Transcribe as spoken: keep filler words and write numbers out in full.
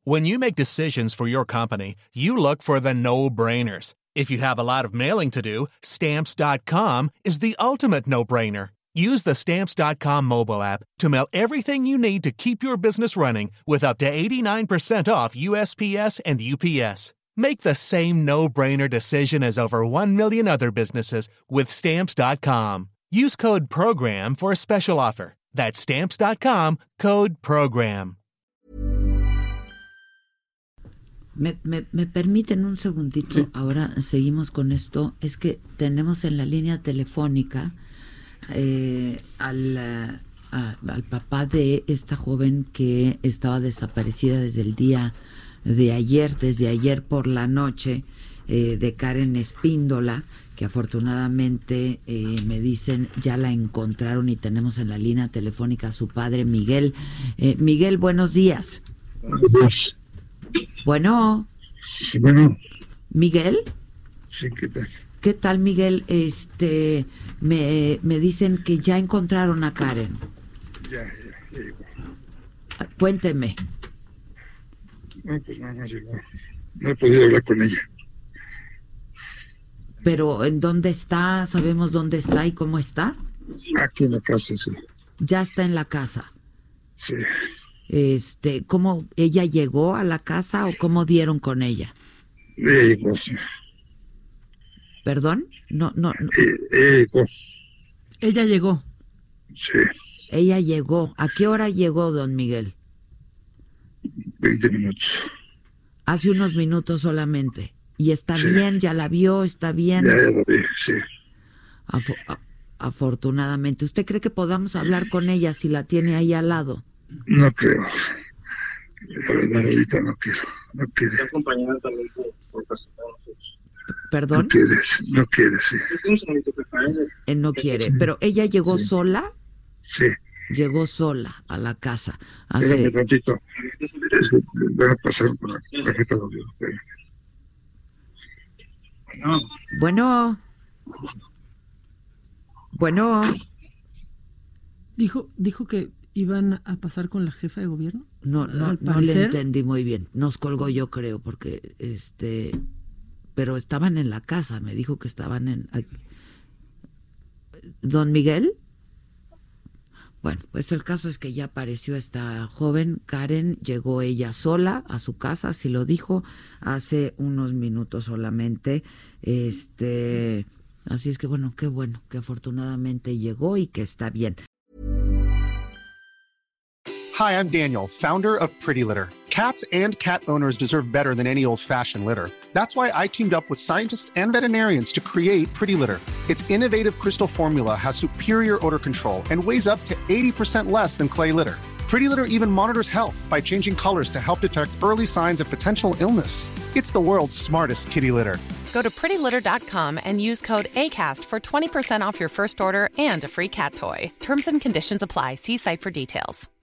When you make decisions for your company, you look for the no-brainers. If you have a lot of mailing to do, Stamps dot com is the ultimate no-brainer. Use the Stamps dot com mobile app to mail everything you need to keep your business running with up to eighty-nine percent off U S P S and U P S. Make the same no-brainer decision as over one million other businesses with Stamps dot com. Use code PROGRAM for a special offer. That's Stamps dot com, code PROGRAM. Me, me, me permiten un segundito, sí. Ahora seguimos con esto. Es que tenemos en la línea telefónica eh, al, a, al papá de esta joven que estaba desaparecida desde el día de ayer, desde ayer por la noche, eh, de Karen Espíndola, que afortunadamente eh, me dicen ya la encontraron y tenemos en la línea telefónica a su padre Miguel. Eh, Miguel, buenos días. Buenos días. Bueno. Sí, bueno. ¿Miguel? Sí, ¿qué tal? ¿Qué tal, Miguel? Este, me, me dicen que ya encontraron a Karen. Ya, ya, ya llegó. Cuénteme. No, pues nada más llegó. No he podido hablar con ella. ¿Pero en dónde está? ¿Sabemos dónde está y cómo está? Aquí en la casa, sí. Ya está en la casa. Sí. Este, ¿cómo ella llegó a la casa o cómo dieron con ella? Ella llegó, sí. ¿Perdón? No, no, no. Ella llegó. Ella llegó. Sí. Ella llegó. ¿A qué hora llegó, don Miguel? Veinte minutos. Hace unos minutos solamente. ¿Y está sí. bien? ¿Ya la vio? ¿Está bien? Ya, ya la vi, sí. Afo- a- afortunadamente. ¿Usted cree que podamos hablar con ella si la tiene ahí al lado? No creo. La verdad, ahorita no quiero. No quiere. Está acompañada también por, por presentar a nosotros. ¿Perdón? No quieres, no quieres, sí. Él no quiere. ¿Pero ella llegó sí. sola? Sí. Llegó sola a la casa. Hace... Espérame tantito. Es que voy a pasar por la tarjeta de audio. No. Bueno. Bueno. Dijo, dijo que iban a pasar con la jefa de gobierno. No, no, no le entendí muy bien. Nos colgó, yo creo, porque este, pero estaban en la casa. Me dijo que estaban en. ¿Don Miguel? Bueno, pues el caso es que ya apareció esta joven, Karen, llegó ella sola a su casa, así lo dijo, hace unos minutos solamente. Este, así es que bueno, qué bueno, que afortunadamente llegó y que está bien. Hi, I'm Daniel, founder of Pretty Litter. Cats and cat owners deserve better than any old-fashioned litter. That's why I teamed up with scientists and veterinarians to create Pretty Litter. Its innovative crystal formula has superior odor control and weighs up to eighty percent less than clay litter. Pretty Litter even monitors health by changing colors to help detect early signs of potential illness. It's the world's smartest kitty litter. Go to pretty litter dot com and use code ACAST for twenty percent off your first order and a free cat toy. Terms and conditions apply. See site for details.